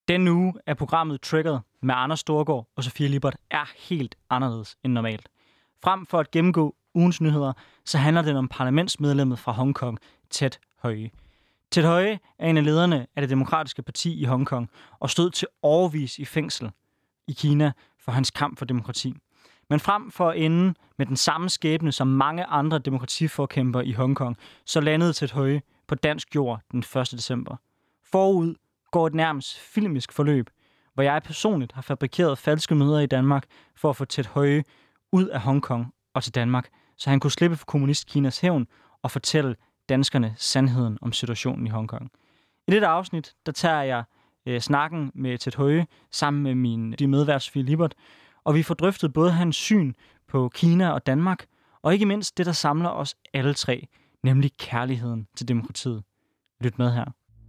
Denne uge er programmet Triggered med Anders Storgård og Sofie Lippert er helt anderledes end normalt. Frem for at gennemgå ugens nyheder, så handler det om parlamentsmedlemmet fra Hongkong, Ted Hui. Ted Hui er en af lederne af det demokratiske parti i Hongkong og stod til årevis i fængsel i Kina for hans kamp for demokrati. Men frem for at ende med den samme skæbne som mange andre demokratiforkæmpere i Hongkong, så landede Ted Hui på dansk jord den 1. december. Forud går et nærmest filmisk forløb, hvor jeg personligt har fabrikeret falske møder i Danmark for at få Ted Hui ud af Hongkong og til Danmark, så han kunne slippe for kommunist-Kinas hævn og fortælle danskerne sandheden om situationen i Hongkong. I dette afsnit, der tager jeg snakken med Ted Hui sammen med min medvært Sofie Lippert, og vi får drøftet både hans syn på Kina og Danmark, og ikke mindst det, der samler os alle tre, nemlig kærligheden til demokratiet. Lyt med her.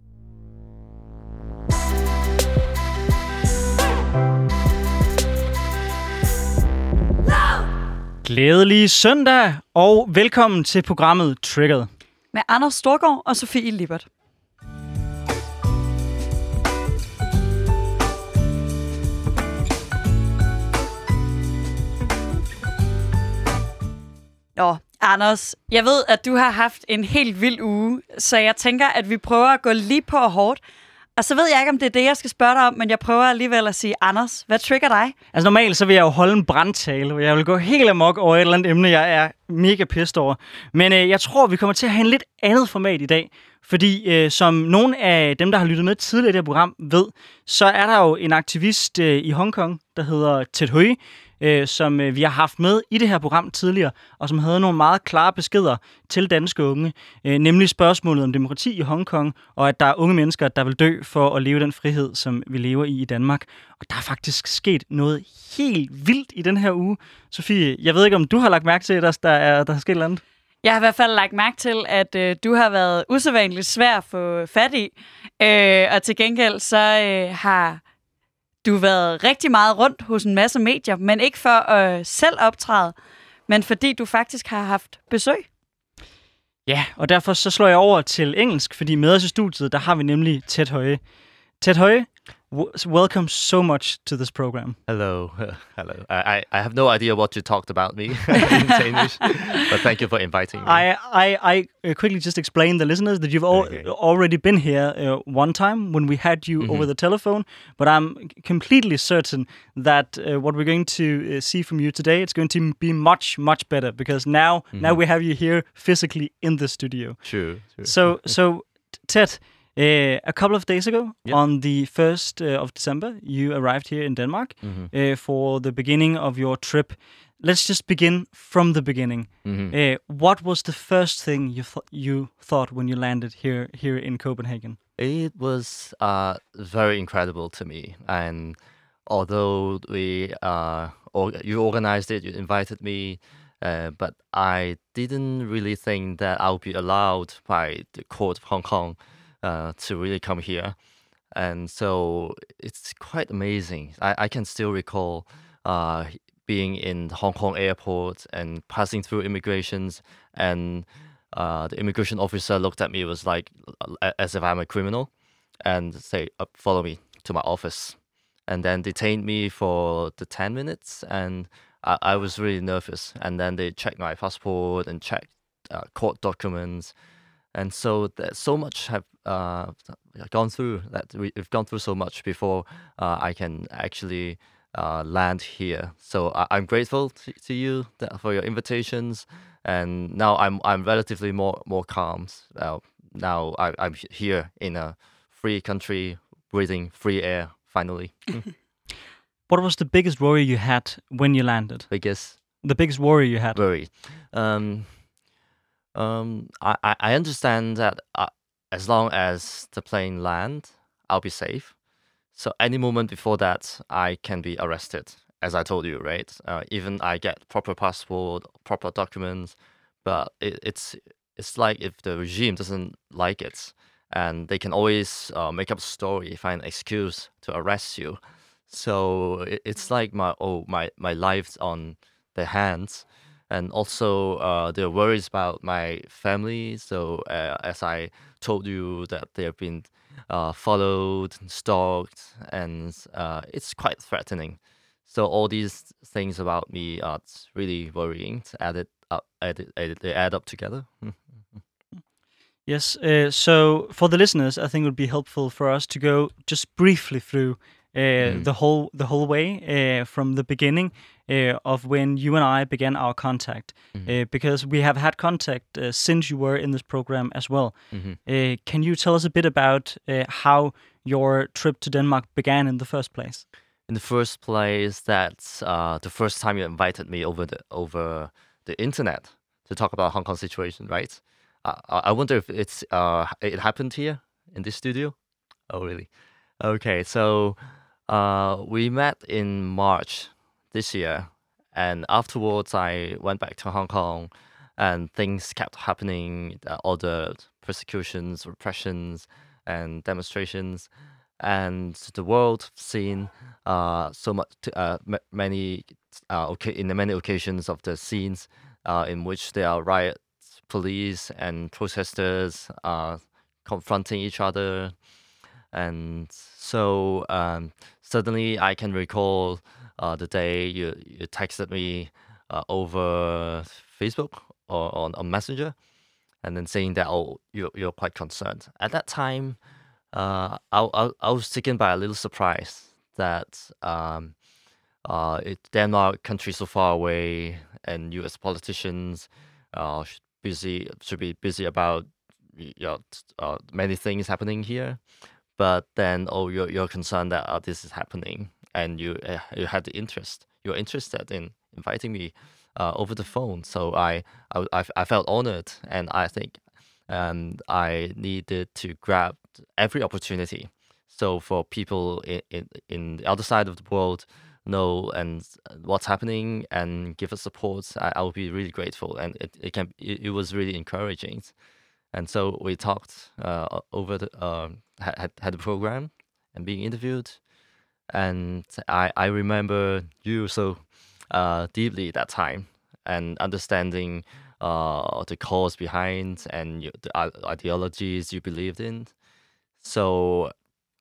Glædelig søndag, og velkommen til programmet Triggered. Med Anders Storgård og Sofie Lippert. Nå, Anders, jeg ved, at du har haft en helt vild uge, så jeg tænker, at vi prøver at gå lige på hårdt. Og så ved jeg ikke, om det er det, jeg skal spørge dig om, men jeg prøver alligevel at sige, Anders, hvad trigger dig? Altså normalt så vil jeg jo holde en brandtale, hvor jeg vil gå helt amok over et eller andet emne, jeg er mega pissed over. Men jeg tror, vi kommer til at have en lidt andet format i dag. Fordi som nogle af dem, der har lyttet med tidligere i det her program, ved, så er der jo en aktivist i Hongkong, der hedder Ted Hui, som vi har haft med i det her program tidligere, og som havde nogle meget klare beskeder til danske unge, nemlig spørgsmålet om demokrati i Hongkong, og at der er unge mennesker, der vil dø for at leve den frihed, som vi lever i Danmark. Og der er faktisk sket noget helt vildt i den her uge. Sofie, jeg ved ikke, om du har lagt mærke til, at der er sket et eller andet? Jeg har i hvert fald lagt mærke til, at du har været usædvanligt svær at få fat i, og til gengæld så har du været rigtig meget rundt hos en masse medier, men ikke for at selv optræde, men fordi du faktisk har haft besøg. Ja, og derfor så slår jeg over til engelsk, fordi med os i studiet, der har vi nemlig Ted Hui. Ted Hui, welcome so much to this program. Hello. I have no idea what you talked about me in Danish, but thank you for inviting me. I quickly just explain the listeners that you've already been here one time when we had you over the telephone, but I'm completely certain that what we're going to see from you today, it's going to be much, much better because now we have you here physically in the studio. Sure. So Ted, a couple of days ago, on the 1st of December, you arrived here in Denmark for the beginning of your trip. Let's just begin from the beginning. What was the first thing you thought when you landed here in Copenhagen? It was very incredible to me, and although you organized it, you invited me, but I didn't really think that I would be allowed by the court of Hong Kong to really come here. And so it's quite amazing. I can still recall being in Hong Kong airport and passing through immigrations, and the immigration officer looked at me, was like as if I'm a criminal, and say, follow me to my office. And then detained me for the 10 minutes, and I was really nervous. And then they checked my passport and checked court documents. And so so much have gone through, that we've gone through so much before I can actually land here. So I'm grateful to you for your invitations, and now I'm relatively more calm. Now I'm here in a free country, breathing free air finally. What was the biggest worry you had when you landed? The biggest worry you had? Worry. I understand that as long as the plane lands, I'll be safe. So any moment before that, I can be arrested, as I told you, right? Even I get proper passport, proper documents, but it's like if the regime doesn't like it, and they can always make up a story, find an excuse to arrest you. So it's like my life's on their hands. And also, there are worries about my family. So, as I told you, that they have been followed, stalked, and it's quite threatening. So all these things about me are really worrying. They add up together. Yes. So for the listeners, I think it would be helpful for us to go just briefly through the whole way from the beginning of when you and I began our contact, because we have had contact since you were in this program as well. Can you tell us a bit about how your trip to Denmark began in the first place? In the first place, that's the first time you invited me over the internet to talk about Hong Kong situation, right? I wonder if it happened here in this studio. Oh, really? Okay, so we met in March this year, and afterwards I went back to Hong Kong, and things kept happening. All the persecutions, repressions, and demonstrations, and the world seen so much many in the many occasions of the scenes in which there are riots, police and protesters confronting each other. And so suddenly I can recall the day you texted me over Facebook or on Messenger, and then saying that, oh, you're quite concerned. At that time, I was taken by a little surprise that Denmark, country so far away, and U.S. politicians should be busy about many things happening here. But then, oh, you're concerned that this is happening, and you had the interest. You're interested in inviting me over the phone. So I felt honored, and I think I needed to grab every opportunity. So for people in the other side of the world know and what's happening and give us support, I would be really grateful, and it was really encouraging. And so we talked over the had the program and being interviewed, and I remember you so deeply that time, and understanding the cause behind and the ideologies you believed in. So,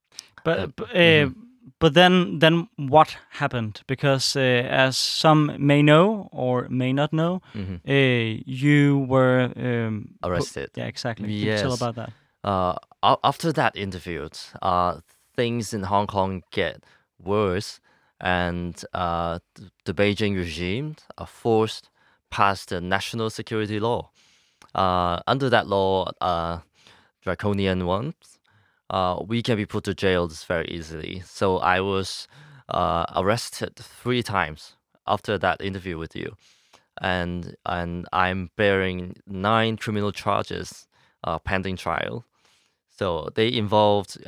but then what happened? Because as some may know or may not know, you were arrested. Yeah, exactly. Can Yes. you tell about that? After that interview, things in Hong Kong get worse, and the Beijing regime forced past the national security law. Under that law, draconian ones, we can be put to jail very easily. So I was arrested 3 times after that interview with you, and I'm bearing 9 criminal charges pending trial. So they involved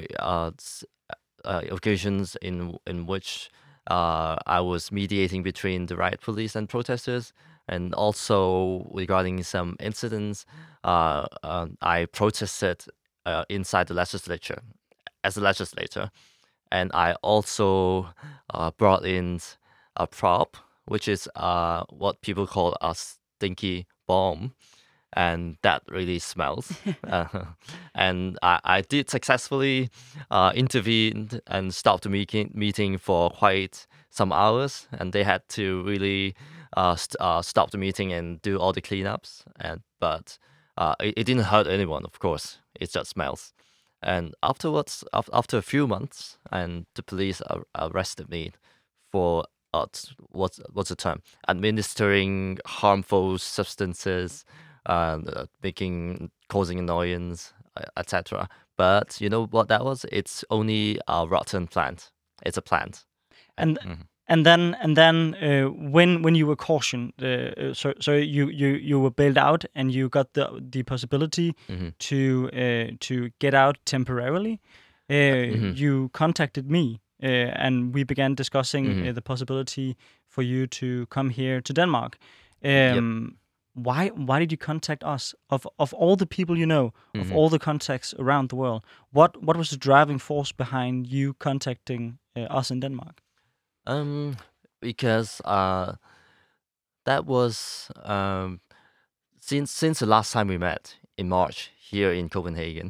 occasions in which I was mediating between the riot police and protesters, and also regarding some incidents, I protested inside the legislature as a legislator, and I also brought in a prop, which is what people call a stinky bomb, and that really smells. And I did successfully intervene and stop the meeting for quite some hours, and they had to really stop the meeting and do all the cleanups. But it didn't hurt anyone, of course. It just smells. And afterwards, after a few months, and the police arrested me for what's the term? Administering harmful substances, causing annoyance, etc. But you know what that was? It's only a rotten plant. It's a plant. And then when you were cautioned, so you were bailed out and you got the possibility to get out temporarily. You contacted me and we began discussing the possibility for you to come here to Denmark. Why did you contact us? Of all the people you know, of all the contacts around the world, what was the driving force behind you contacting us in Denmark? Because that was since the last time we met in March here in Copenhagen.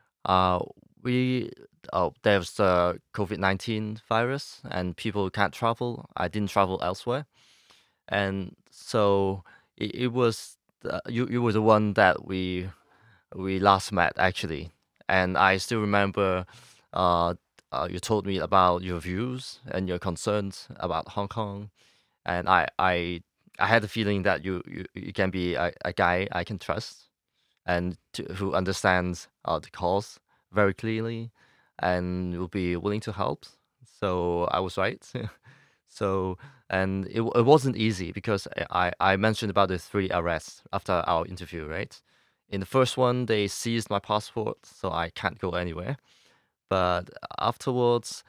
We There's the COVID-19 virus and people can't travel. I didn't travel elsewhere, and so it was you were the one that we last met actually, and I still remember. You told me about your views and your concerns about Hong Kong, and I had the feeling that you can be a guy I can trust and who understands the cause very clearly and will be willing to help. So I was right. So and it wasn't easy because I mentioned about the 3 arrests after our interview, right? In the first one, they seized my passport, so I can't go anywhere. But afterwards,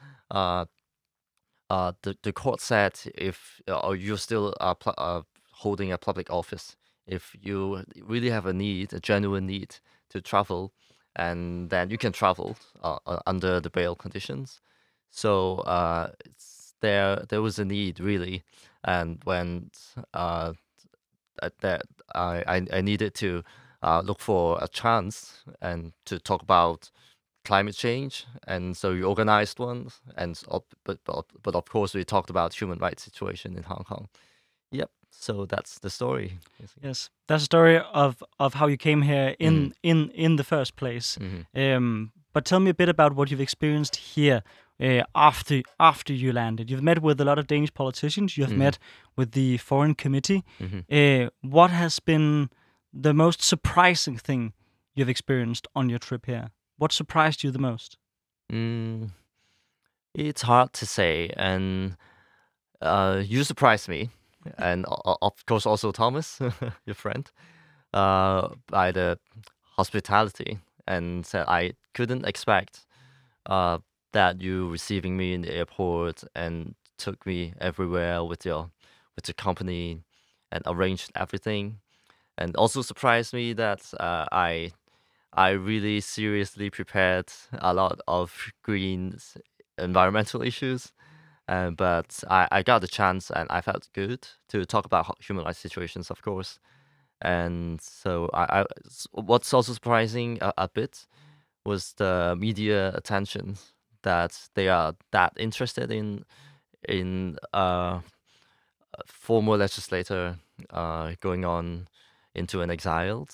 the court said if you're still holding a public office, if you really have a genuine need to travel, and then you can travel under the bail conditions. So there was a need really, and when that I needed to look for a chance and to talk about climate change, and so we organized one, and but of course we talked about human rights situation in Hong Kong. Yep. So that's the story. Yes, that's a story of how you came here in the first place. But tell me a bit about what you've experienced here after you landed. You've met with a lot of Danish politicians. You have met with the Foreign Committee. What has been the most surprising thing you've experienced on your trip here? What surprised you the most? It's hard to say, and you surprised me, and of course also Thomas, your friend, by the hospitality, and said I couldn't expect that you receiving me in the airport and took me everywhere with the company and arranged everything, and also surprised me that I really seriously prepared a lot of green environmental issues, but I got the chance and I felt good to talk about human rights situations, of course. And so what's also surprising a bit was the media attention that they are that interested in former legislator going on into an exile.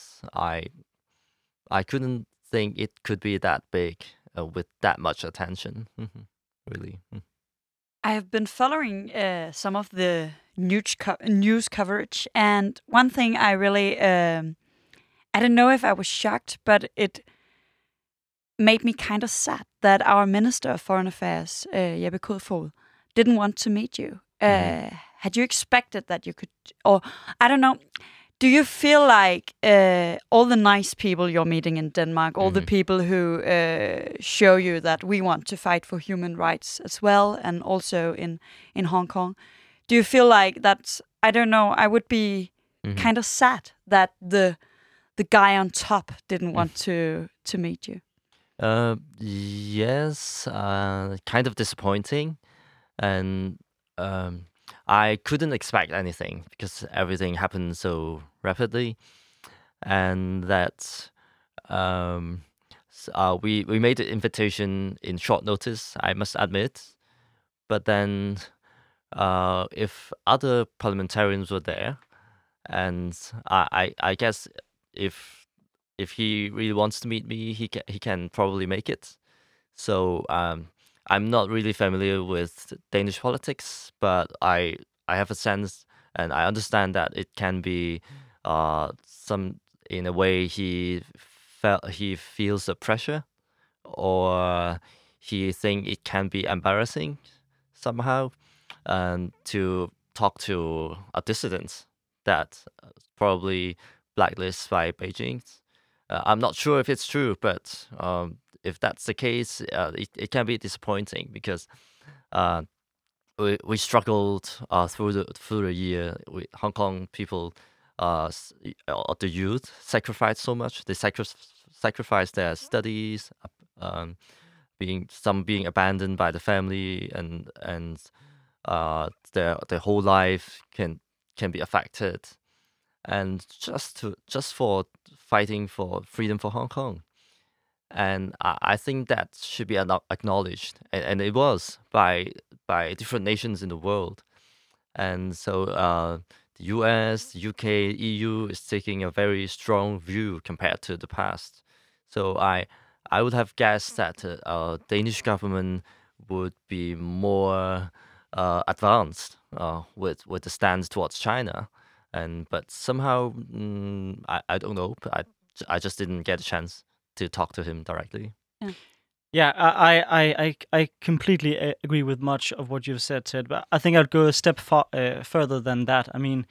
I couldn't think it could be that big with that much attention. Really. I have been following some of the news coverage, and one thing I really, I don't know if I was shocked, but it made me kind of sad that our Minister of Foreign Affairs, Jeppe Kofod, didn't want to meet you. Had you expected that you could, or I don't know, do you feel like all the nice people you're meeting in Denmark, all the people who show you that we want to fight for human rights as well, and also in Hong Kong, do you feel like that's, I don't know, I would be kind of sad that the guy on top didn't want to meet you? Yes, kind of disappointing, and I couldn't expect anything because everything happened so rapidly, and that we made the invitation in short notice, I must admit. But then, if other parliamentarians were there, and I guess if he really wants to meet me, he can probably make it. So I'm not really familiar with Danish politics, but I have a sense and I understand that it can be some, in a way, he feels the pressure, or he think it can be embarrassing somehow, to talk to a dissident that probably blacklisted by Beijing. I'm not sure if it's true, but if that's the case, it can be disappointing because we struggled through the year. Hong Kong people, the youth, sacrificed so much. They sacrificed their studies, being abandoned by the family, and their whole life can be affected, and just for fighting for freedom for Hong Kong. And I think that should be acknowledged, and it was by different nations in the world. And so the US, the UK, EU is taking a very strong view compared to the past. So I would have guessed that Danish government would be more advanced with the stance towards China, but somehow I don't know. I just didn't get a chance to talk to him directly. Yeah, I completely agree with much of what you've said, Ted. But I think I'd go a step further than that. I mean,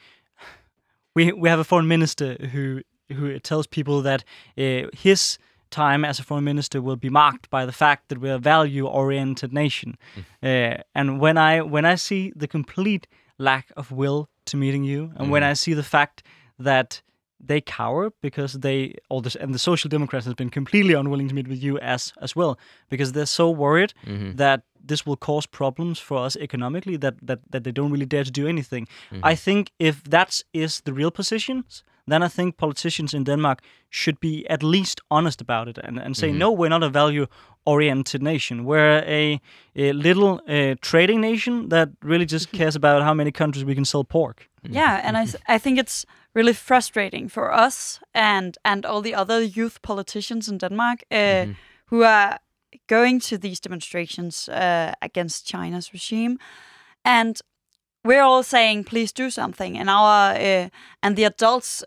we have a foreign minister who tells people that his time as a foreign minister will be marked by the fact that we're a value-oriented nation. And when I see the complete lack of will to meeting you, and when I see the fact that they cower because and the Social Democrats has been completely unwilling to meet with you as well, because they're so worried that this will cause problems for us economically that they don't really dare to do anything. I think if that is the real positions, then I think politicians in Denmark should be at least honest about it and say, no, we're not a value-oriented nation. We're a little trading nation that really just cares about how many countries we can sell pork. Yeah, and I think it's really frustrating for us and all the other youth politicians in Denmark who are going to these demonstrations against China's regime, and we're all saying, please do something, and and the adults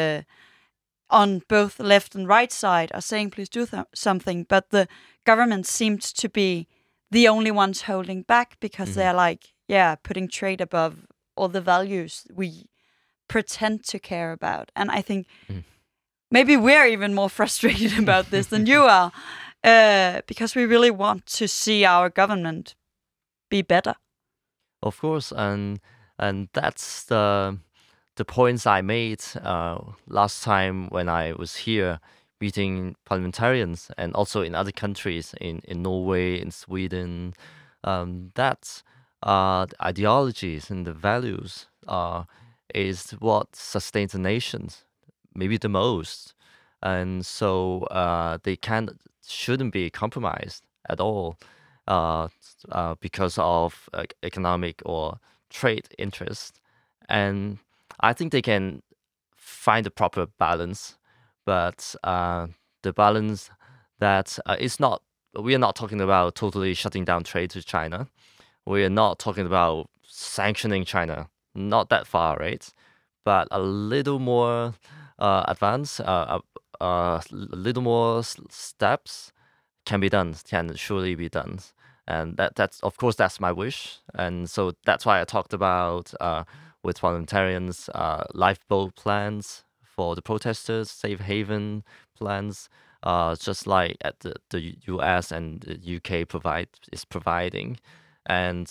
on both left and right side are saying, please do something, but the government seems to be the only ones holding back because they're putting trade above all the values we pretend to care about. And I think maybe we're even more frustrated about this than you are, because we really want to see our government be better. Of course, and that's the points I made last time when I was here meeting parliamentarians, and also in other countries, in Norway, in Sweden. That the ideologies and the values is what sustains the nations, maybe the most, and so they shouldn't be compromised at all because of economic or trade interest. And I think they can find the proper balance, but the balance that is not. We are not talking about totally shutting down trade to China. We are not talking about sanctioning China. Not that far, right? But a little more advanced, a little more steps can be done. Can surely be done, and that's of course that's my wish. And so that's why I talked about with parliamentarians lifeboat plans for the protesters, safe haven plans. Just like at the US and the UK is providing, and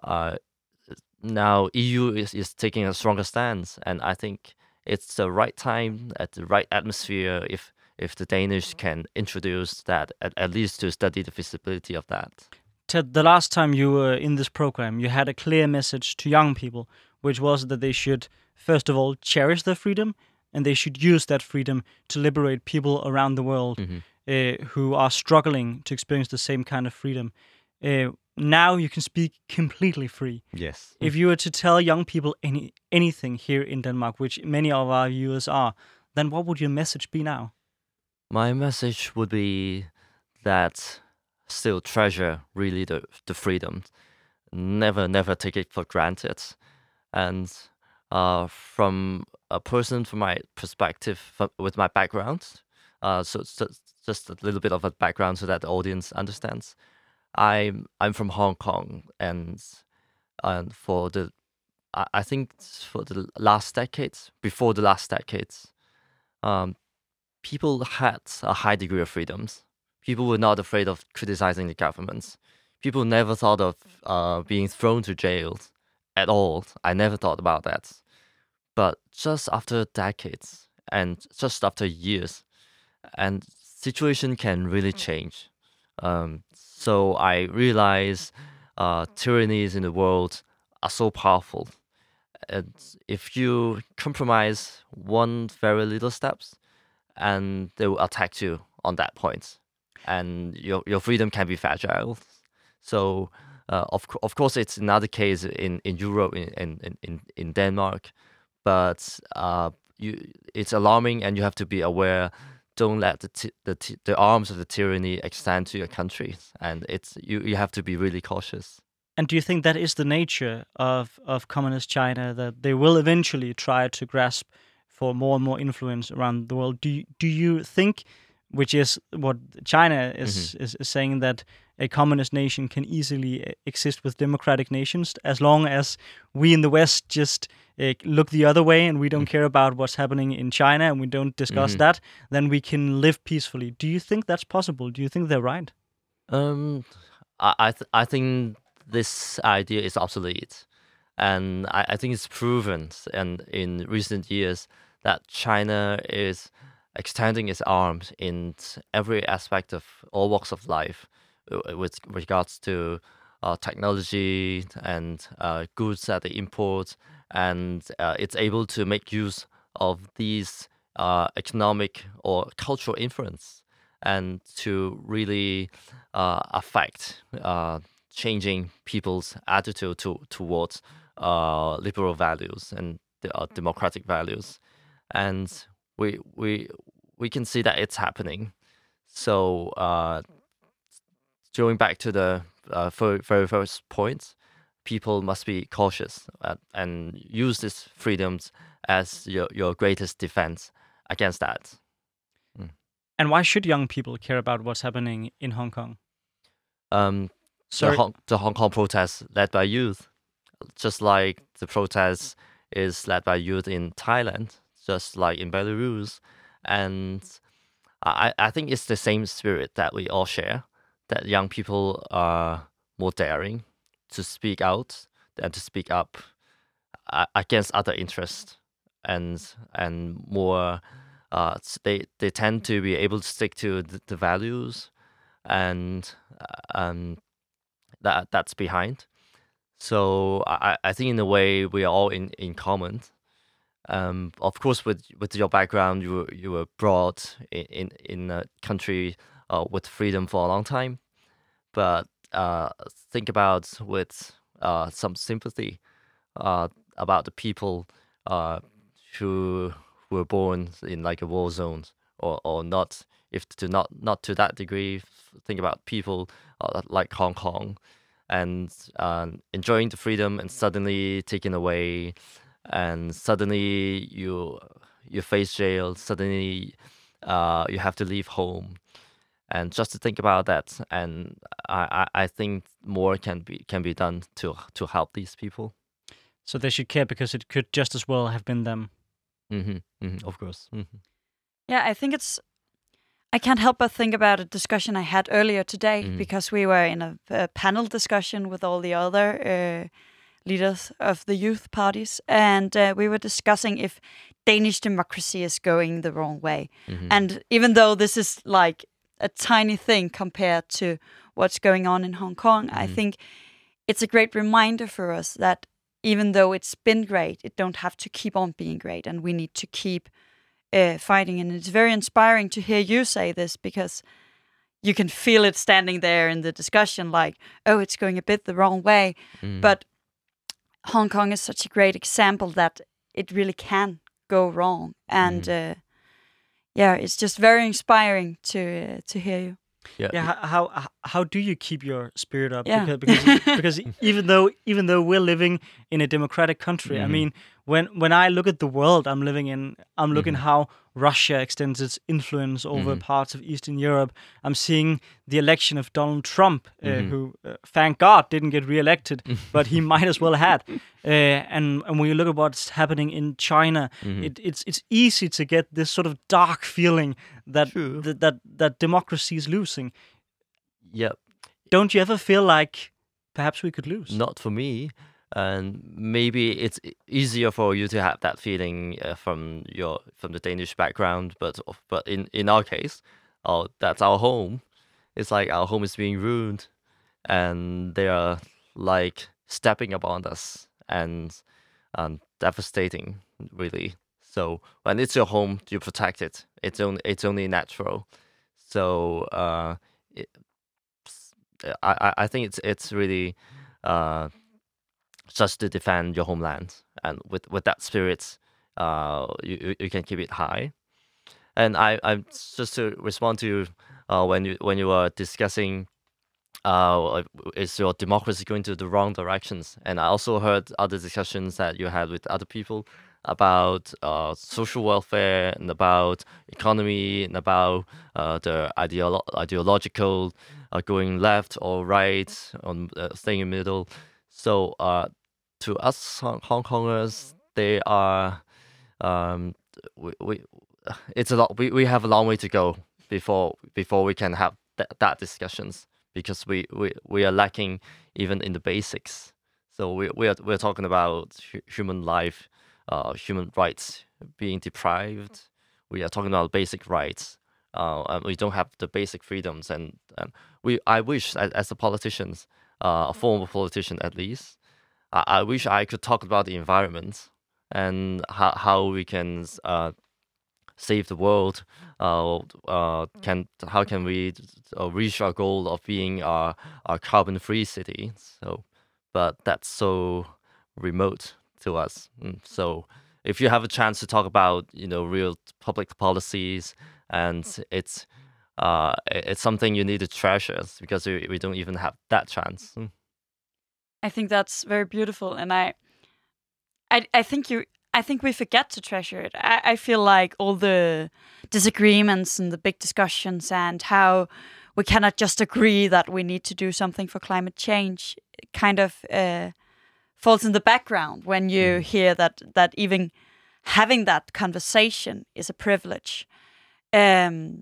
now EU is taking a stronger stance, and I think it's the right time at the right atmosphere if the Danish can introduce that at least to study the feasibility of that. Ted, the last time you were in this program, you had a clear message to young people, which was that they should first of all cherish their freedom. And they should use that freedom to liberate people around the world who are struggling to experience the same kind of freedom. Now you can speak completely free. Yes. If you were to tell young people anything here in Denmark, which many of our viewers are, then what would your message be now? My message would be that still treasure really the freedom. Never take it for granted. And from a person, from my perspective, with my background, so just a little bit of a background so that the audience understands. I'm from Hong Kong, and I think for the last decades, before the last decades, people had a high degree of freedoms. People were not afraid of criticizing the governments. People never thought of being thrown to jail at all. I never thought about that. But just after decades and just after years, and situation can really change. So I realize tyrannies in the world are so powerful. if you compromise one very little steps, and they will attack you on that point, and your freedom can be fragile. So of course it's another case in Europe, in Denmark, but it's alarming, and you have to be aware. Don't let the arms of the tyranny extend to your country, and you have to be really cautious. And do you think that is the nature of communist China, that they will eventually try to grasp for more and more influence around the world? Do you think, which is what China is saying, that a communist nation can easily exist with democratic nations as long as we in the West just look the other way and we don't care about what's happening in China and we don't discuss that, then we can live peacefully? Do you think that's possible? Do you think they're right? I think this idea is obsolete, and I think it's proven and in recent years that China is extending its arms in every aspect of all walks of life, with regards to technology and goods that they import, and it's able to make use of these economic or cultural influence and to really affect changing people's attitude towards liberal values and democratic values, and we can see that it's happening. So going back to the very first point, people must be cautious and use these freedoms as your greatest defense against that. And why should young people care about what's happening in Hong Kong? The Hong Kong protests led by youth, just like the protests is led by youth in Thailand, just like in Belarus. And I think it's the same spirit that we all share, that young people are more daring to speak out and to speak up against other interests, and more they tend to be able to stick to the values and that's behind. So I think in a way we are all in common. Of course, with your background, you were brought in a country with freedom for a long time, but think about with some sympathy about the people who were born in like a war zone or not. If to not to that degree, think about people like Hong Kong and enjoying the freedom and suddenly taken away, and suddenly you face jail, suddenly you have to leave home, and just to think about that, and I think more can be done to help these people. So they should care because it could just as well have been them. Of course. Yeah, I can't help but think about a discussion I had earlier today, because we were in a panel discussion with all the other leaders of the youth parties, and we were discussing if Danish democracy is going the wrong way. And even though this is like a tiny thing compared to what's going on in Hong Kong, I think it's a great reminder for us that even though it's been great, it don't have to keep on being great, and we need to keep fighting. And it's very inspiring to hear you say this, because you can feel it standing there in the discussion, like, oh, it's going a bit the wrong way. But Hong Kong is such a great example that it really can go wrong. And it's just very inspiring to hear you. How do you keep your spirit up? Yeah. Because even though we're living in a democratic country, I mean, when I look at the world I'm living in, I'm looking how Russia extends its influence over parts of Eastern Europe. I'm seeing the election of Donald Trump, who, thank God, didn't get re-elected, but he might as well had. And when you look at what's happening in China, it's easy to get this sort of dark feeling that that democracy is losing. Yep. Don't you ever feel like perhaps we could lose? Not for me. And maybe it's easier for you to have that feeling from the Danish background, but in our case, that's our home. It's like our home is being ruined, and they are like stepping upon us and devastating, really. So when it's your home, you protect it. It's only natural. So I think it's really just to defend your homeland, and with that spirit, you can keep it high. And I just to respond to when you were discussing is your democracy going to the wrong directions? And I also heard other discussions that you had with other people about social welfare and about economy and about the ideological going left or right, on staying in the middle. So to us Hong Kongers, they are we it's a lot. We have a long way to go before we can have that discussions, because we are lacking even in the basics. So we're talking about human life, human rights being deprived. We are talking about basic rights, and we don't have the basic freedoms. And I wish, as a politicians, a former politician at least, I wish I could talk about the environment and how we can save the world. How can we reach our goal of being a carbon-free city? So, but that's so remote to us. So, if you have a chance to talk about real public policies, and it's something you need to treasure, because we don't even have that chance. I think that's very beautiful, and I think we forget to treasure it. I feel like all the disagreements and the big discussions and how we cannot just agree that we need to do something for climate change kind of falls in the background when you hear that even having that conversation is a privilege. And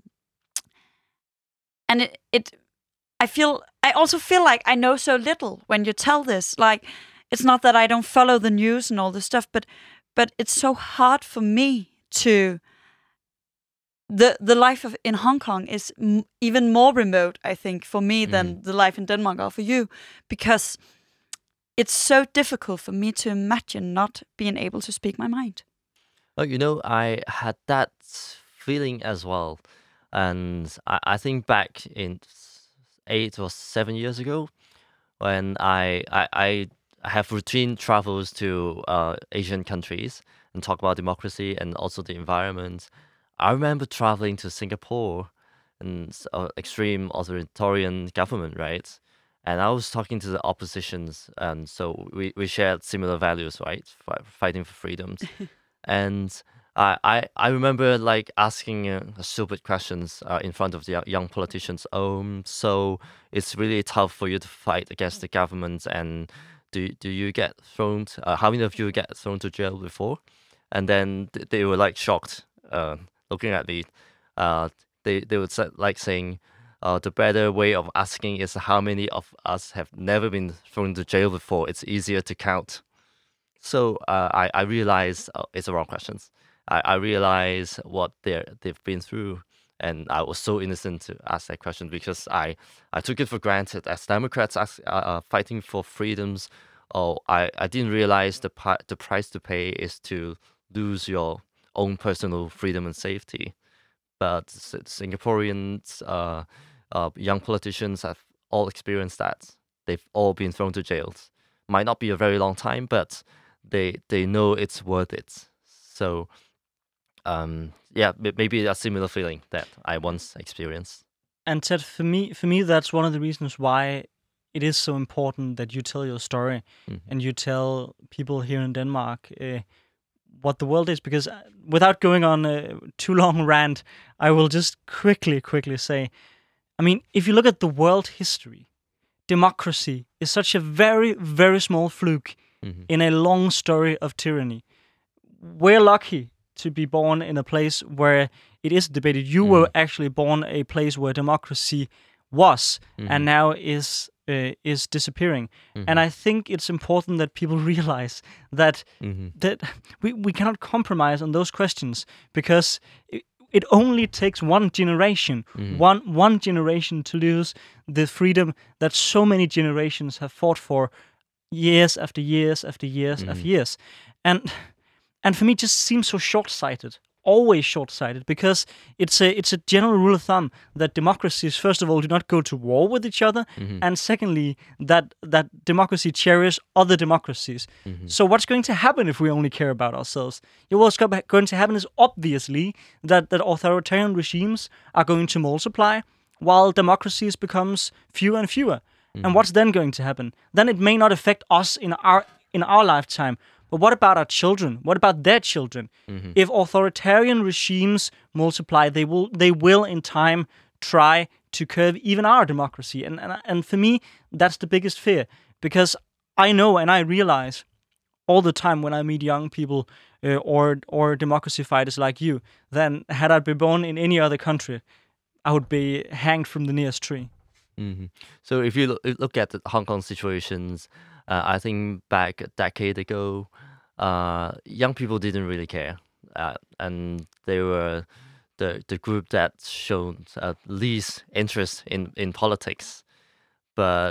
I also feel like I know so little when you tell this. Like, it's not that I don't follow the news and all this stuff, but it's so hard for me to. The life in Hong Kong is even more remote, I think, for me than the life in Denmark or for you, because it's so difficult for me to imagine not being able to speak my mind. Well, I had that feeling as well, and I think back in 8 or 7 years ago, when I have routine travels to Asian countries and talk about democracy and also the environment. I remember traveling to Singapore, and extreme authoritarian government, right? And I was talking to the oppositions, and so we shared similar values, right? Fighting for freedoms. And I remember like asking stupid questions in front of the young politicians. So it's really tough for you to fight against the government, and do you get thrown? How many of you get thrown to jail before? And then they were like shocked, looking at me. They would say, like saying, the better way of asking is how many of us have never been thrown to jail before. It's easier to count. So I realized it's the wrong questions. I realized what they've been through, and I was so innocent to ask that question, because I took it for granted. As Democrats fighting for freedoms, I didn't realize the price to pay is to lose your own personal freedom and safety. But Singaporeans, young politicians have all experienced that. They've all been thrown to jails. Might not be a very long time, but they know it's worth it. So, maybe a similar feeling that I once experienced. And Ted, for me, that's one of the reasons why it is so important that you tell your story and you tell people here in Denmark what the world is. Because without going on a too long rant, I will just quickly say, I mean, if you look at the world history, democracy is such a very, very small fluke in a long story of tyranny. We're lucky to be born in a place where it is debated. You were actually born a place where democracy was and now is disappearing. And I think it's important that people realize that that we cannot compromise on those questions, because it only takes one generation, one generation to lose the freedom that so many generations have fought for years after years after years after years. And for me, it just seems so short-sighted, always short-sighted, because it's a general rule of thumb that democracies, first of all, do not go to war with each other, and secondly, that democracy cherishes other democracies. So what's going to happen if we only care about ourselves? What's going to happen is obviously that authoritarian regimes are going to multiply, while democracies becomes fewer and fewer. And what's then going to happen? Then it may not affect us in our lifetime. But what about our children? What about their children? If authoritarian regimes multiply, they will in time try to curb even our democracy. And for me, that's the biggest fear, because I know and I realize all the time when I meet young people or democracy fighters like you, then had I been born in any other country, I would be hanged from the nearest tree. So if you look at the Hong Kong situations, I think back a decade ago, young people didn't really care, and they were the group that showed least interest in politics. But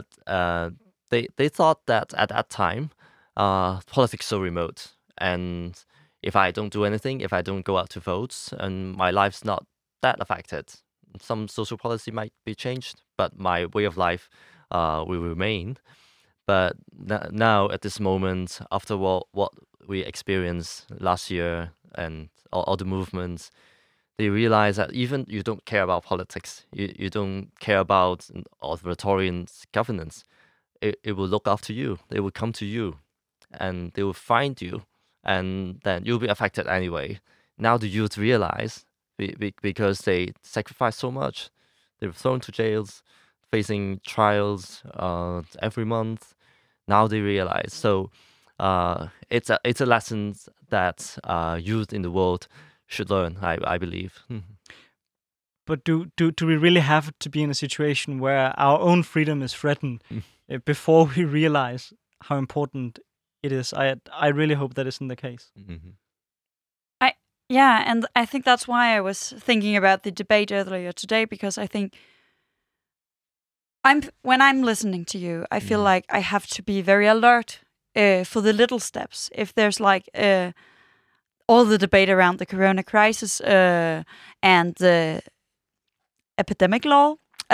they thought that at that time, politics so remote, and if I don't do anything, if I don't go out to vote, and my life's not that affected, some social policy might be changed, but my way of life will remain. But now, at this moment, after what we experienced last year and all the movements, they realize that even you don't care about politics, you don't care about authoritarian governance, it will look after you. They will come to you, and they will find you, and then you'll be affected anyway. Now the youth realize, because they sacrificed so much, they were thrown to jails, facing trials every month. Now they realize. So it's a lesson that youth in the world should learn, I believe. But do we really have to be in a situation where our own freedom is threatened before we realize how important it is? I really hope that isn't the case. Yeah, and I think that's why I was thinking about the debate earlier today, because I think when I'm listening to you, I feel like I have to be very alert for the little steps. If there's like all the debate around the corona crisis and the epidemic law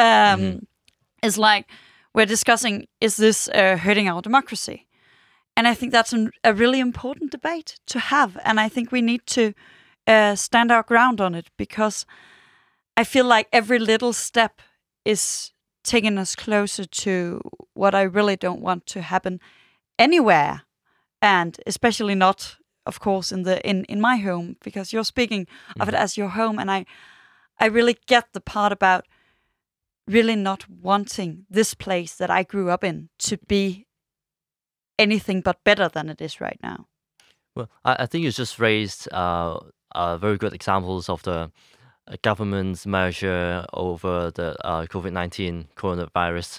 is like, we're discussing, is this hurting our democracy? And I think that's a really important debate to have. And I think we need to stand our ground on it, because I feel like every little step is taking us closer to what I really don't want to happen anywhere, and especially not, of course, in my home, because you're speaking of it as your home, and I really get the part about really not wanting this place that I grew up in to be anything but better than it is right now. Well, I think you just raised very good examples of the government's measure over the COVID-19 coronavirus.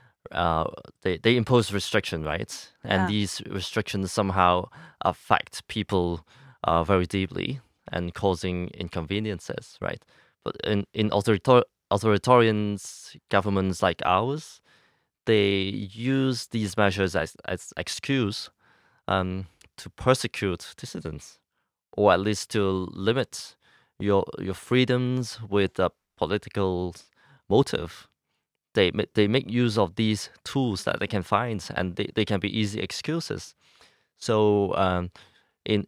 They impose restriction, right? And these restrictions somehow affect people very deeply and causing inconveniences, right? But in authoritarian governments like ours, they use these measures as excuse to persecute dissidents, or at least to limit your freedoms with a political motive. They make use of these tools that they can find, and they can be easy excuses. So in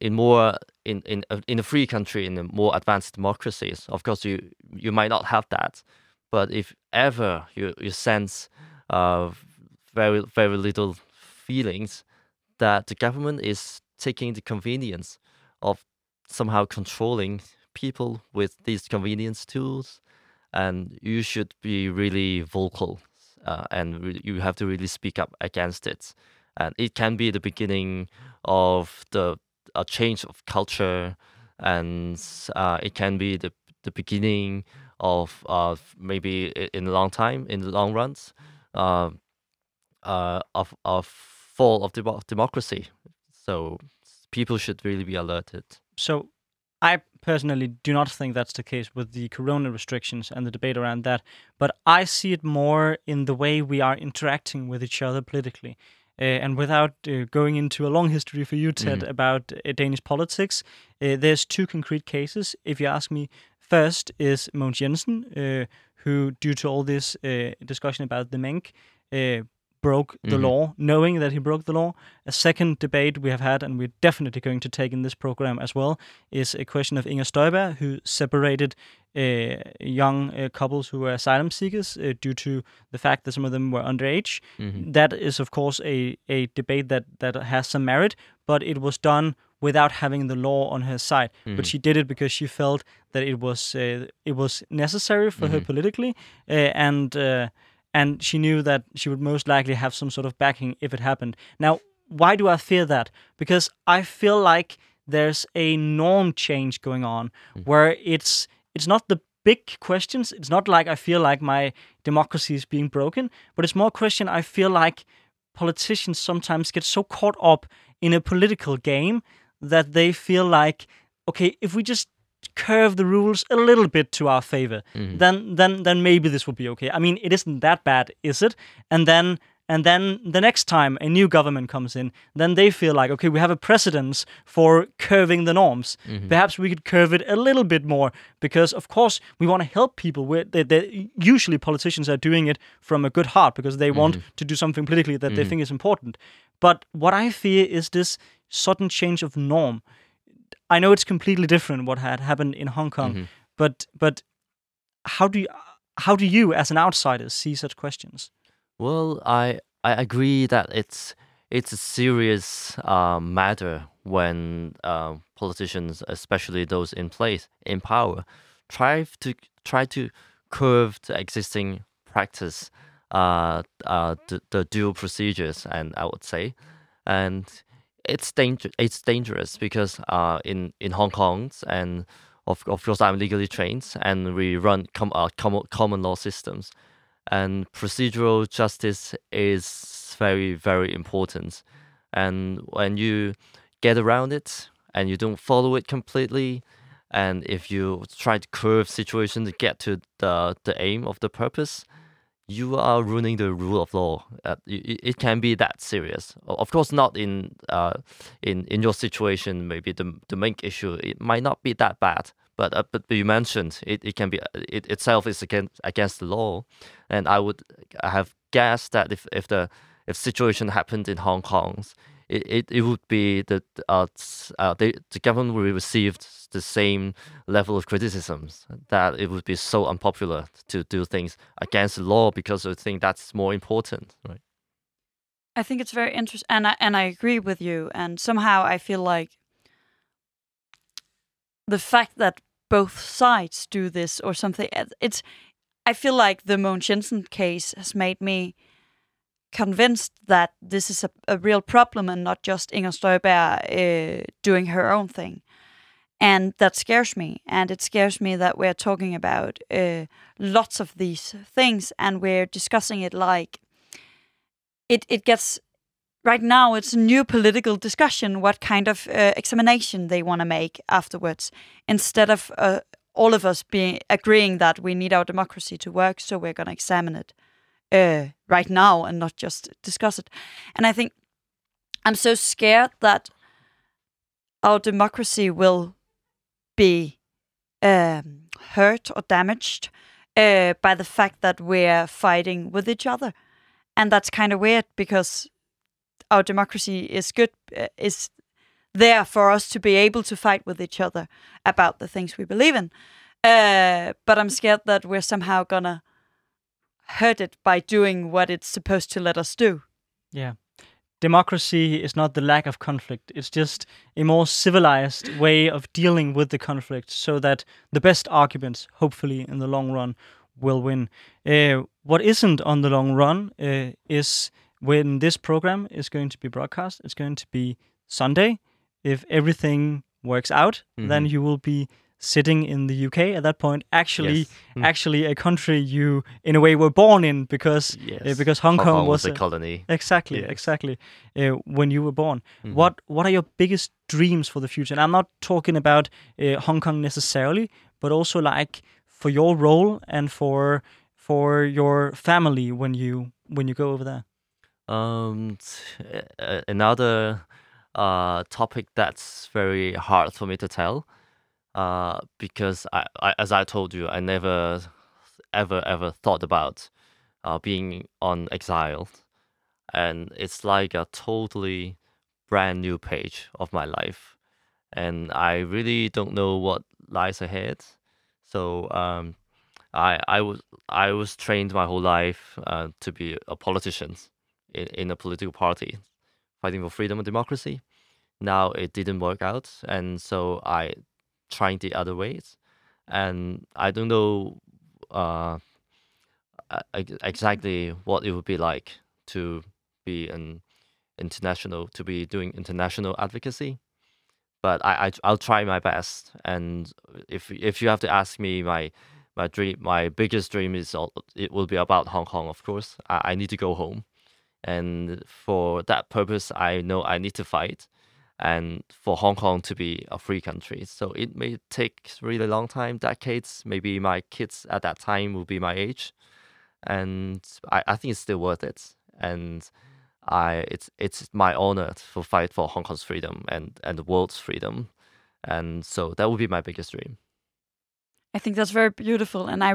a free country, in a more advanced democracies, of course you might not have that. But if ever you sense very, very little feelings that the government is taking the convenience of somehow controlling people with these convenience tools, and you should be really vocal, and you have to really speak up against it. And it can be the beginning of a change of culture, and it can be the beginning of maybe in the long runs, of fall of democracy. So people should really be alerted. So I personally do not think that's the case with the corona restrictions and the debate around that, but I see it more in the way we are interacting with each other politically. And without going into a long history for you, Ted, about Danish politics, there's two concrete cases, if you ask me. First is Mogens Jensen, who, due to all this discussion about the Mink, broke the law, knowing that he broke the law. A second debate we have had, and we're definitely going to take in this program as well, is a question of Inger Støjberg, who separated young couples who were asylum seekers due to the fact that some of them were underage. That is, of course, a debate that has some merit, but it was done without having the law on her side. But she did it because she felt that it was necessary for her politically, and she knew that she would most likely have some sort of backing if it happened. Now, why do I fear that? Because I feel like there's a norm change going on where it's not the big questions. It's not like I feel like my democracy is being broken, but it's more a question I feel like politicians sometimes get so caught up in a political game that they feel like, okay, if we just curve the rules a little bit to our favor, then maybe this will be okay. I mean, it isn't that bad, is it? And then the next time a new government comes in, then they feel like, okay, we have a precedence for curving the norms. Perhaps we could curve it a little bit more, because of course we want to help people. Usually politicians are doing it from a good heart because they want to do something politically that they think is important. But what I fear is this sudden change of norm. I know it's completely different what had happened in Hong Kong, but how do you as an outsider see such questions? Well, I agree that it's a serious matter when politicians, especially those in power, try to curve the existing practice, the dual procedures, and I would say, and it's dangerous because in Hong Kong, and of course I'm legally trained, and we run common law systems. And procedural justice is very, very important. And when you get around it and you don't follow it completely, and if you try to curve situation to get to the aim of the purpose, you are ruining the rule of law. It can be that serious. Of course, not in your situation. Maybe the Mink issue, it might not be that bad. But you mentioned it can be it itself is against the law, and I would have guessed that if situation happened in Hong Kong, it would be that the government would receive the same level of criticisms, that it would be so unpopular to do things against the law because I think that's more important, right? I think it's very interesting, and I agree with you. And somehow I feel like the fact that both sides do this or something, I feel like the Mogens Jensen case has made me convinced that this is a real problem and not just Inger Støjberg doing her own thing. And that scares me. And it scares me that we're talking about lots of these things and we're discussing it like it gets... Right now, it's a new political discussion, what kind of examination they want to make afterwards, instead of all of us agreeing that we need our democracy to work, so we're going to examine it right now and not just discuss it. And I think I'm so scared that our democracy will be hurt or damaged by the fact that we're fighting with each other. And that's kind of weird because our democracy is there for us to be able to fight with each other about the things we believe in. But I'm scared that we're somehow gonna hurt it by doing what it's supposed to let us do. Yeah. Democracy is not the lack of conflict. It's just a more civilized way of dealing with the conflict so that the best arguments, hopefully in the long run, will win. What isn't on the long run is when this program is going to be broadcast. It's going to be Sunday. If everything works out, then you will be sitting in the UK at that point. Actually, a country you, in a way, were born in because Hong Kong was a colony. Exactly. When you were born. What are your biggest dreams for the future? And I'm not talking about Hong Kong necessarily, but also like for your role and for your family when you go over there. Another topic that's very hard for me to tell, because as I told you, I never ever thought about being on exile, and it's like a totally brand new page of my life, and I really don't know what lies ahead. So I was trained my whole life to be a politician in a political party, fighting for freedom and democracy. Now it didn't work out, and so I tried the other ways, and I don't know exactly what it would be like to be to be doing international advocacy. But I'll try my best. And if you have to ask me, my biggest dream it will be about Hong Kong. Of course, I need to go home, and for that purpose, I know I need to fight, and for Hong Kong to be a free country. So it may take really long time, decades. Maybe my kids at that time will be my age, and I think it's still worth it. And it's my honor to fight for Hong Kong's freedom and the world's freedom, and so that would be my biggest dream. I think that's very beautiful, and I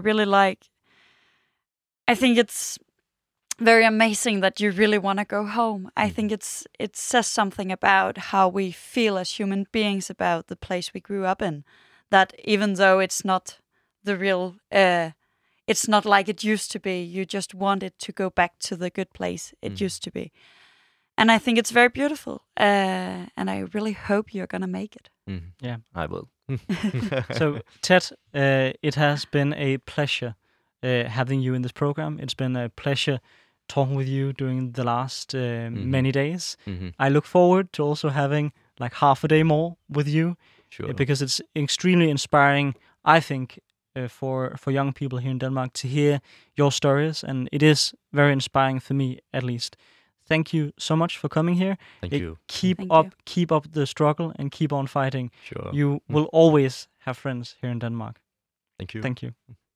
think it's very amazing that you really want to go home. I think it says something about how we feel as human beings about the place we grew up in, that even though it's not the real it's not like it used to be, you just want it to go back to the good place it used to be. And I think it's very beautiful, and I really hope you're going to make it. Yeah, I will. So, Ted, it has been a pleasure having you in this program. It's been a pleasure talking with you during the last many days. I look forward to also having like half a day more with you, because it's extremely inspiring, I think, for young people here in Denmark to hear your stories, and it is very inspiring for me, at least. Thank you so much for coming here. Thank you. Keep up the struggle and keep on fighting. Sure. You will always have friends here in Denmark. Thank you. Thank you.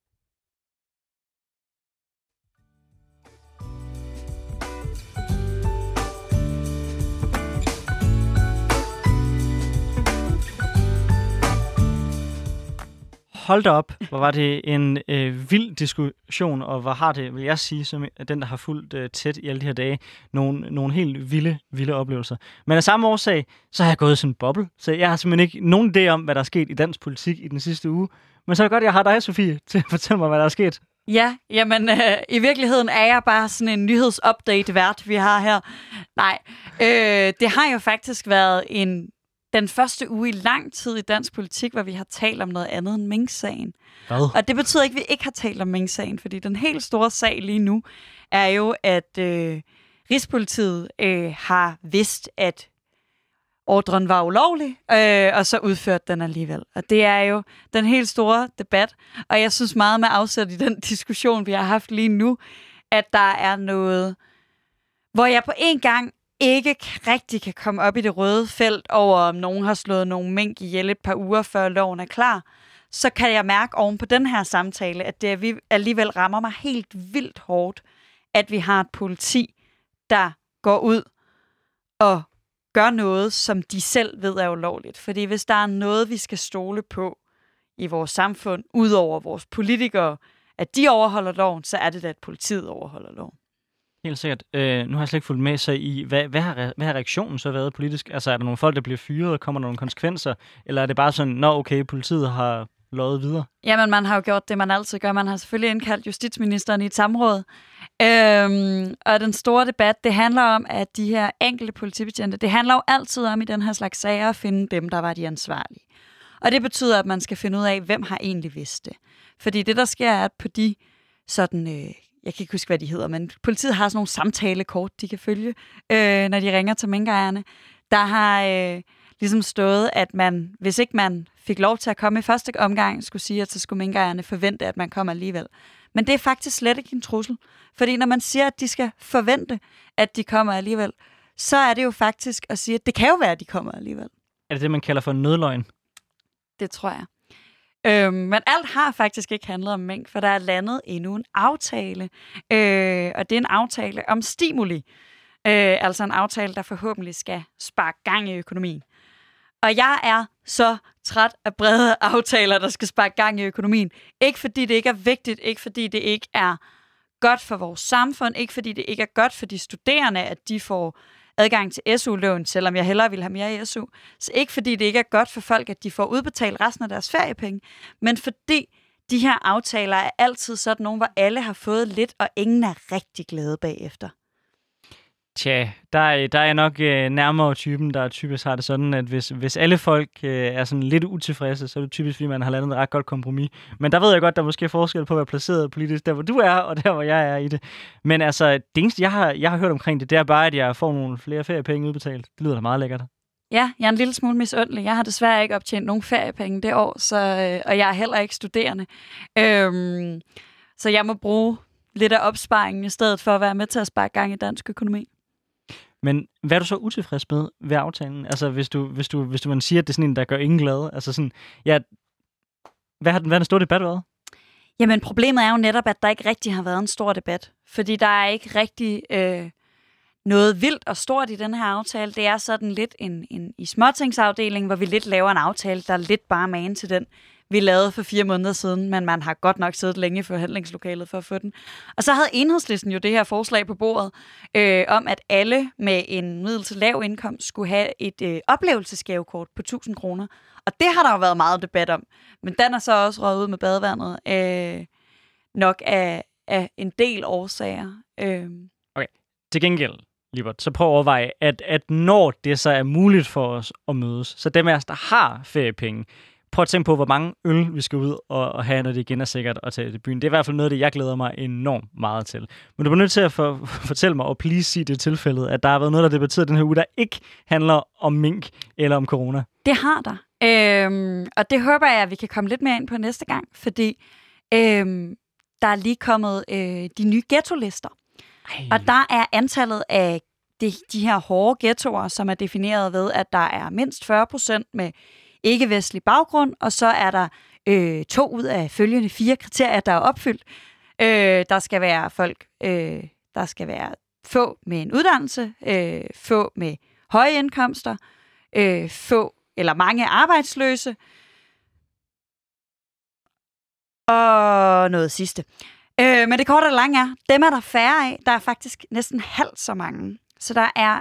Hold da op, hvor var det en vild diskussion, og hvor har det, vil jeg sige, som den, der har fulgt tæt i alle de her dage, nogle helt vilde oplevelser. Men af samme årsag, så har jeg gået i sådan en boble, så jeg har simpelthen ikke nogen idé om, hvad der er sket i dansk politik i den sidste uge. Men så er det godt, jeg har dig, Sofie, til at fortælle mig, hvad der er sket. Ja, jamen i virkeligheden er jeg bare sådan en nyhedsupdate-vært, vi har her. Nej, det har jo faktisk været den første uge i lang tid i dansk politik, hvor vi har talt om noget andet end Mink-sagen. Hvad? Og det betyder ikke, at vi ikke har talt om Mink-sagen, fordi den helt store sag lige nu er jo, at Rigspolitiet har vidst, at ordren var ulovlig, og så udførte den alligevel. Og det er jo den helt store debat, og jeg synes meget med afsæt i den diskussion, vi har haft lige nu, at der er noget, hvor jeg på en gang ikke rigtig kan komme op i det røde felt over, om nogen har slået nogle mink ihjel et par uger før loven er klar, så kan jeg mærke oven på den her samtale, at det alligevel rammer mig helt vildt hårdt, at vi har et politi, der går ud og gør noget, som de selv ved er ulovligt. Fordi hvis der er noget, vi skal stole på i vores samfund, ud over vores politikere, at de overholder loven, så er det da, at politiet overholder loven. Helt sikkert. Nu har jeg slet ikke fulgt med sig i, hvad har reaktionen så været politisk? Altså, er der nogle folk, der bliver fyret, og kommer der nogle konsekvenser? Eller er det bare sådan, okay, politiet har løjet videre? Jamen, man har jo gjort det, man altid gør. Man har selvfølgelig indkaldt justitsministeren i et samråd. Og den store debat, det handler om, at de her enkelte politibetjente, det handler jo altid om i den her slags sager at finde dem, der var de ansvarlige. Og det betyder, at man skal finde ud af, hvem har egentlig vidst det. Fordi det, der sker, er, at på de sådan... jeg kan ikke huske, hvad de hedder, men politiet har sådan nogle samtalekort, de kan følge, når de ringer til minkejerne. Der har ligesom stået, at man, hvis ikke man fik lov til at komme i første omgang, skulle sige, at så skulle minkejerne forvente, at man kommer alligevel. Men det er faktisk slet ikke en trussel. Fordi når man siger, at de skal forvente, at de kommer alligevel, så er det jo faktisk at sige, at det kan jo være, at de kommer alligevel. Er det det, man kalder for en nødløgn? Det tror jeg. Men alt har faktisk ikke handlet om mink, for der er landet endnu en aftale. Og det er en aftale om stimuli. Altså en aftale, der forhåbentlig skal sparke gang i økonomien. Og jeg er så træt af brede aftaler, der skal sparke gang i økonomien. Ikke fordi det ikke er vigtigt, ikke fordi det ikke er godt for vores samfund, ikke fordi det ikke er godt for de studerende, at de får adgang til SU-lån, selvom jeg hellere vil have mere i SU. Så ikke fordi det ikke er godt for folk, at de får udbetalt resten af deres feriepenge, men fordi de her aftaler er altid sådan nogle, hvor alle har fået lidt, og ingen er rigtig glade bagefter. Tja, der er nok nærmere typen, der typisk har det sådan, at hvis alle folk er sådan lidt utilfredse, så er det typisk, fordi man har landet et ret godt kompromis. Men der ved jeg godt, der er måske forskel på at være placeret politisk, der hvor du er, og der hvor jeg er i det. Men altså, det eneste, jeg har hørt omkring det, det er bare, at jeg får nogle flere feriepenge udbetalt. Det lyder da meget lækkert. Ja, jeg er en lille smule misundelig. Jeg har desværre ikke optjent nogen feriepenge det år, og jeg er heller ikke studerende. Så jeg må bruge lidt af opsparingen i stedet for at være med til at sparke gang i dansk økonomi. Men hvad er du så utilfreds med ved aftalen? Altså, hvis man siger, at det er sådan en, der gør ingen glade. Altså sådan, ja, hvad har den store debat været? Jamen, problemet er jo netop, at der ikke rigtig har været en stor debat. Fordi der er ikke rigtig noget vildt og stort i den her aftale. Det er sådan lidt en i småtingsafdeling, hvor vi lidt laver en aftale, der er lidt bare magen til den, vi lavede for 4 måneder siden, men man har godt nok siddet længe i forhandlingslokalet for at få den. Og så havde Enhedslisten jo det her forslag på bordet, om at alle med en middel til lav indkomst skulle have et oplevelsesgavekort på 1.000 kroner. Og det har der jo været meget debat om. Men den er så også røget ud med badevandet, nok af en del årsager. Okay, til gengæld, Libert, så prøv at overveje, at når det så er muligt for os at mødes, så dem af os, der har feriepenge, prøv at tænke på, hvor mange øl vi skal ud og have, når det igen er sikkert at tage til byen. Det er i hvert fald noget af det, jeg glæder mig enormt meget til. Men du er nødt til at fortælle mig, og please sige det tilfældet, at der har været noget, der debatteret den her uge, der ikke handler om mink eller om corona. Det har der. Og det håber jeg, at vi kan komme lidt mere ind på næste gang, fordi der er lige kommet de nye ghettolister. Og der er antallet af de her hårde ghettoer, som er defineret ved, at der er mindst 40% med ikke-vestlig baggrund, og så er der 2 ud af følgende 4 kriterier, der er opfyldt. Der skal være folk, der skal være få med en uddannelse, få med høje indkomster, få eller mange arbejdsløse, og noget sidste. Men det korte og lange er, dem er der færre af. Der er faktisk næsten halvt så mange. Så der er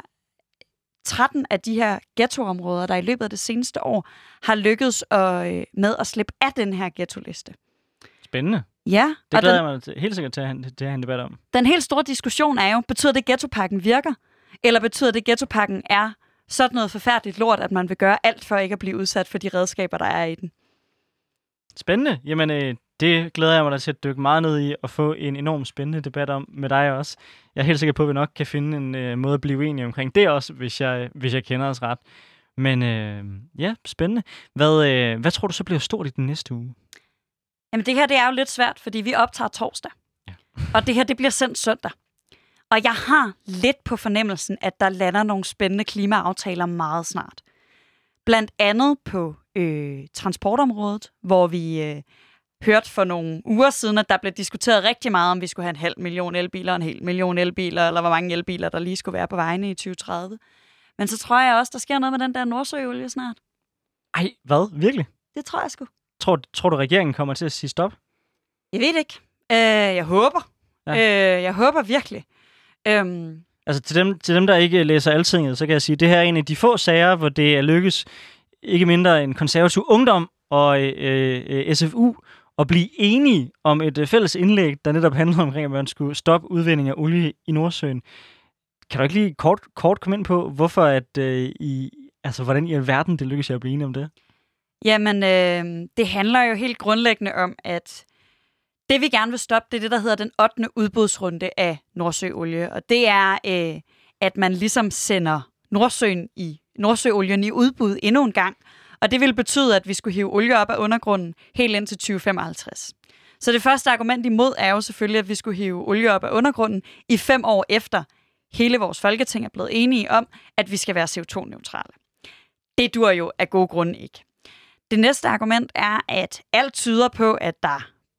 13 af de her ghettoområder, der i løbet af det seneste år har lykkedes med at slippe af den her ghettoliste. Spændende. Ja. Det glæder jeg mig helt sikkert til at have en debat om. Den helt store diskussion er jo, betyder det, at ghettopakken virker? Eller betyder det, at ghettopakken er sådan noget forfærdeligt lort, at man vil gøre alt for ikke at blive udsat for de redskaber, der er i den? Spændende. Jamen, det glæder jeg mig da til at dykke meget ned i og få en enormt spændende debat om med dig også. Jeg er helt sikker på, at vi nok kan finde en måde at blive uenige omkring det også, hvis jeg kender os ret. Men ja, spændende. Hvad tror du så bliver stort i den næste uge? Jamen det her, det er jo lidt svært, fordi vi optager torsdag. Ja. Og det her, det bliver sendt søndag. Og jeg har lidt på fornemmelsen, at der lander nogle spændende klimaaftaler meget snart. Blandt andet på transportområdet, hvor vi hørte for nogle uger siden, at der blev diskuteret rigtig meget, om vi skulle have 500.000 elbiler, 1.000.000 elbiler, eller hvor mange elbiler, der lige skulle være på vejene i 2030. Men så tror jeg også, der sker noget med den der Nordsøolie snart. Ej, hvad? Virkelig? Det tror jeg sgu. Tror du, regeringen kommer til at sige stop? Jeg ved ikke. Jeg håber. Ja. Jeg håber virkelig. Altså til dem, der ikke læser Altinget, så kan jeg sige, at det her er en af de få sager, hvor det er lykkes ikke mindre end Konservativ Ungdom og SFU at blive enige om et fælles indlæg, der netop handler om, at man skulle stoppe udvinding af olie i Nordsøen. Kan du ikke lige kort komme ind på, hvorfor hvordan i alverden det lykkes at blive enige om det? Jamen, det handler jo helt grundlæggende om, at det vi gerne vil stoppe, det er det, der hedder den 8. udbudsrunde af Nordsøolie. Og det er, at man ligesom sender Nordsøolien i udbud endnu en gang. Og det vil betyde, at vi skulle hive olie op af undergrunden helt ind til 2055. Så det første argument imod er jo selvfølgelig, at vi skulle hive olie op af undergrunden i 5 år efter hele vores folketing er blevet enige om, at vi skal være CO2-neutrale. Det dur jo af gode grunde ikke. Det næste argument er, at alt tyder på, at der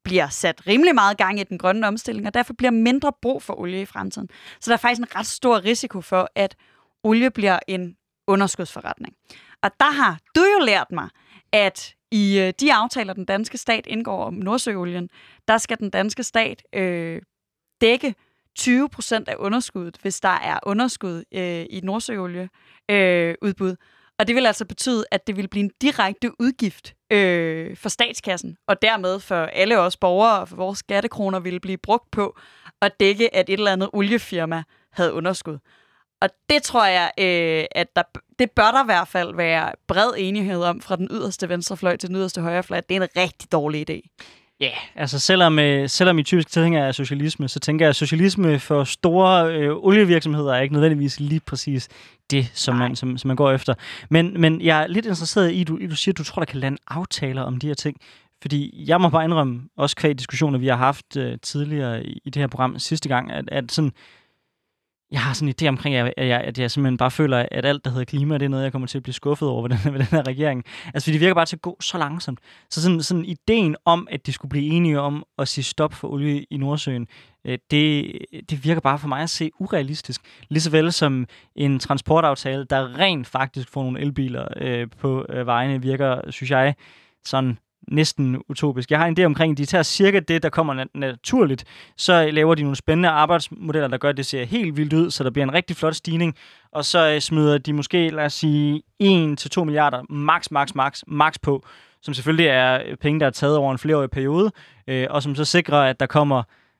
bliver sat rimelig meget gang i den grønne omstilling, og derfor bliver mindre brug for olie i fremtiden. Så der er faktisk en ret stor risiko for, at olie bliver en underskudsforretning. Og der har du jo lært mig, at i de aftaler, den danske stat indgår om Nordsøolien, der skal den danske stat dække 20% af underskuddet, hvis der er underskud i Nordsøolieudbud. Og det vil altså betyde, at det vil blive en direkte udgift for statskassen, og dermed for alle os borgere og for vores skattekroner ville blive brugt på at dække, at et eller andet oliefirma havde underskud. Og det tror jeg, at det bør der i hvert fald være bred enighed om fra den yderste venstrefløj til den yderste højrefløj. Det er en rigtig dårlig idé. Ja, yeah, altså selvom I typisk tænker af socialisme, så tænker jeg, at socialisme for store olievirksomheder er ikke nødvendigvis lige præcis det, som man går efter. Men jeg er lidt interesseret i, du siger, at du tror, der kan lande aftaler om de her ting. Fordi jeg må bare indrømme, også kvæg diskussioner, vi har haft tidligere i det her program sidste gang, at sådan, jeg har sådan en idé omkring, at jeg simpelthen bare føler, at alt, der hedder klima, det er noget, jeg kommer til at blive skuffet over ved den her regering. Altså, fordi det virker bare til at gå så langsomt. Så sådan ideen om, at de skulle blive enige om at sige stop for olie i Nordsøen, det virker bare for mig at se urealistisk. Ligesåvel som en transportaftale, der rent faktisk får nogle elbiler på vejene, virker, synes jeg, sådan næsten utopisk. Jeg har en idé omkring, at de tager cirka det, der kommer naturligt. Så laver de nogle spændende arbejdsmodeller, der gør, at det ser helt vildt ud, så der bliver en rigtig flot stigning. Og så smider de måske, lad os sige, 1-2 milliarder max på, som selvfølgelig er penge, der er taget over en flereårig periode, og som så sikrer, at der kommer,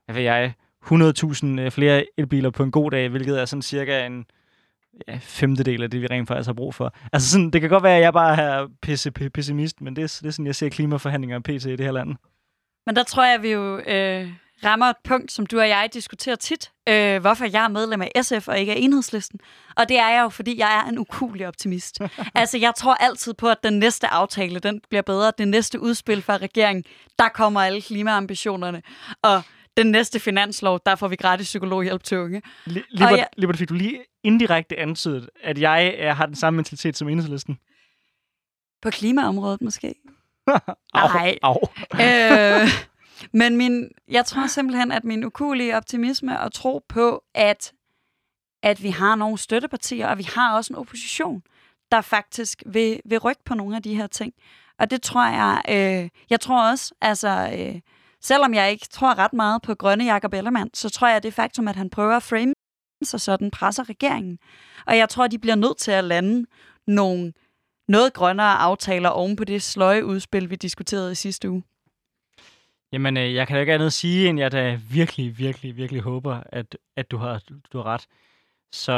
100.000 flere elbiler på en god dag, hvilket er sådan cirka en femtedel af det, vi rent faktisk har brug for. Altså sådan, det kan godt være, at jeg bare er pessimist, men det er sådan, jeg ser klimaforhandlinger pt. I det her land. Men der tror jeg, vi jo rammer et punkt, som du og jeg diskuterer tit, hvorfor jeg er medlem af SF og ikke af Enhedslisten. Og det er jeg jo, fordi jeg er en ukuelig optimist. Altså, jeg tror altid på, at den næste aftale, den bliver bedre. Det næste udspil fra regeringen, der kommer alle klimaambitionerne. Og den næste finanslov, der får vi gratis psykologhjælp til unge. Libert, fik du lige indirekte antydet, at jeg har den samme mentalitet som Enhedslisten? På klimaområdet måske? Nej. Men jeg tror simpelthen, at min ukuelige optimisme og tro på, at vi har nogle støttepartier, og vi har også en opposition, der faktisk vil rykke på nogle af de her ting. Og det tror jeg tror også, altså selvom jeg ikke tror ret meget på grønne Jakob Ellemann, så tror jeg, at det faktum, at han prøver at frame sig sådan, presser regeringen. Og jeg tror, de bliver nødt til at lande noget grønnere aftaler oven på det sløje udspil, vi diskuterede i sidste uge. Jamen, jeg kan da ikke andet sige, end jeg da virkelig, virkelig, virkelig håber, at du har ret. Så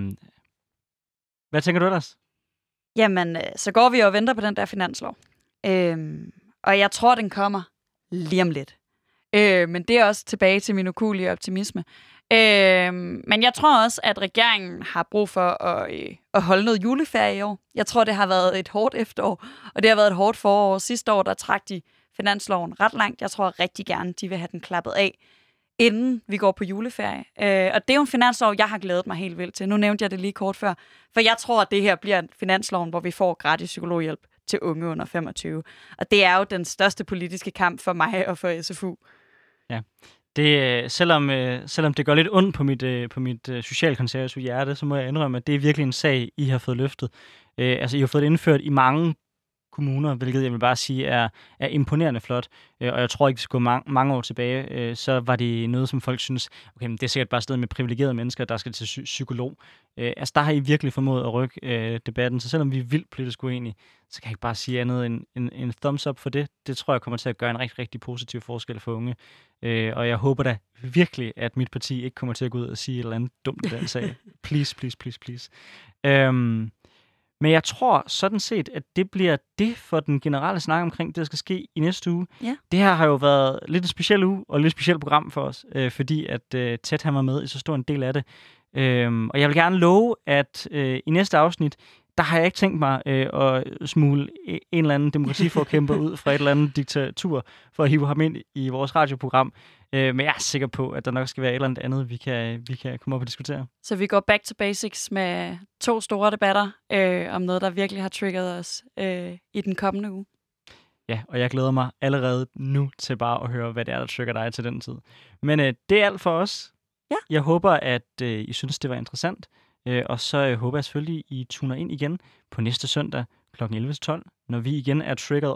hvad tænker du ellers? Jamen, så går vi og venter på den der finanslov. Og jeg tror, den kommer lige om lidt. Men det er også tilbage til min ukuelige optimisme. Men jeg tror også, at regeringen har brug for at holde noget juleferie i år. Jeg tror, det har været et hårdt efterår, og det har været et hårdt forår. Sidste år, der trak de finansloven ret langt. Jeg tror rigtig gerne, de vil have den klappet af, inden vi går på juleferie. Og det er jo en finanslov, jeg har glædet mig helt vildt til. Nu nævnte jeg det lige kort før. For jeg tror, at det her bliver finansloven, hvor vi får gratis psykologhjælp til unge under 25. Og det er jo den største politiske kamp for mig og for SFU. Ja. Det, selvom det gør lidt ondt på mit socialkonservative hjerte, så må jeg indrømme, at det er virkelig en sag, I har fået løftet. Altså, I har fået det indført i mange kommuner, hvilket jeg vil bare sige er imponerende flot. Og jeg tror ikke, vi skal gå mange år tilbage, så var det noget, som folk synes, okay, men det er sikkert bare et sted med privilegerede mennesker, der skal til psykolog. Altså, der har I virkelig formået at rykke debatten, så selvom vi er vildt politisk uenige, så kan jeg ikke bare sige andet end en thumbs up for det. Det tror jeg kommer til at gøre en rigtig, rigtig positiv forskel for unge. Og jeg håber da virkelig, at mit parti ikke kommer til at gå ud og sige et eller andet dumt i den sag. Please, please, please, please. Men jeg tror sådan set, at det bliver det for den generelle snak omkring det, der skal ske i næste uge. Ja. Det her har jo været lidt en speciel uge og et lidt specielt program for os, fordi at Ted han var med i så stor en del af det. Og jeg vil gerne love, at i næste afsnit, der har jeg ikke tænkt mig at smule en eller anden demokratiforkæmper ud fra et eller andet diktatur, for at hive ham ind i vores radioprogram. Men jeg er sikker på, at der nok skal være et eller andet, vi kan komme op og diskutere. Så vi går back to basics med 2 store debatter om noget, der virkelig har triggeret os i den kommende uge. Ja, og jeg glæder mig allerede nu til bare at høre, hvad det er, der trigger dig til den tid. Men det er alt for os. Ja. Jeg håber, at I synes, det var interessant. Og så håber jeg selvfølgelig, I tuner ind igen på næste søndag kl. 11-12, når vi igen er triggered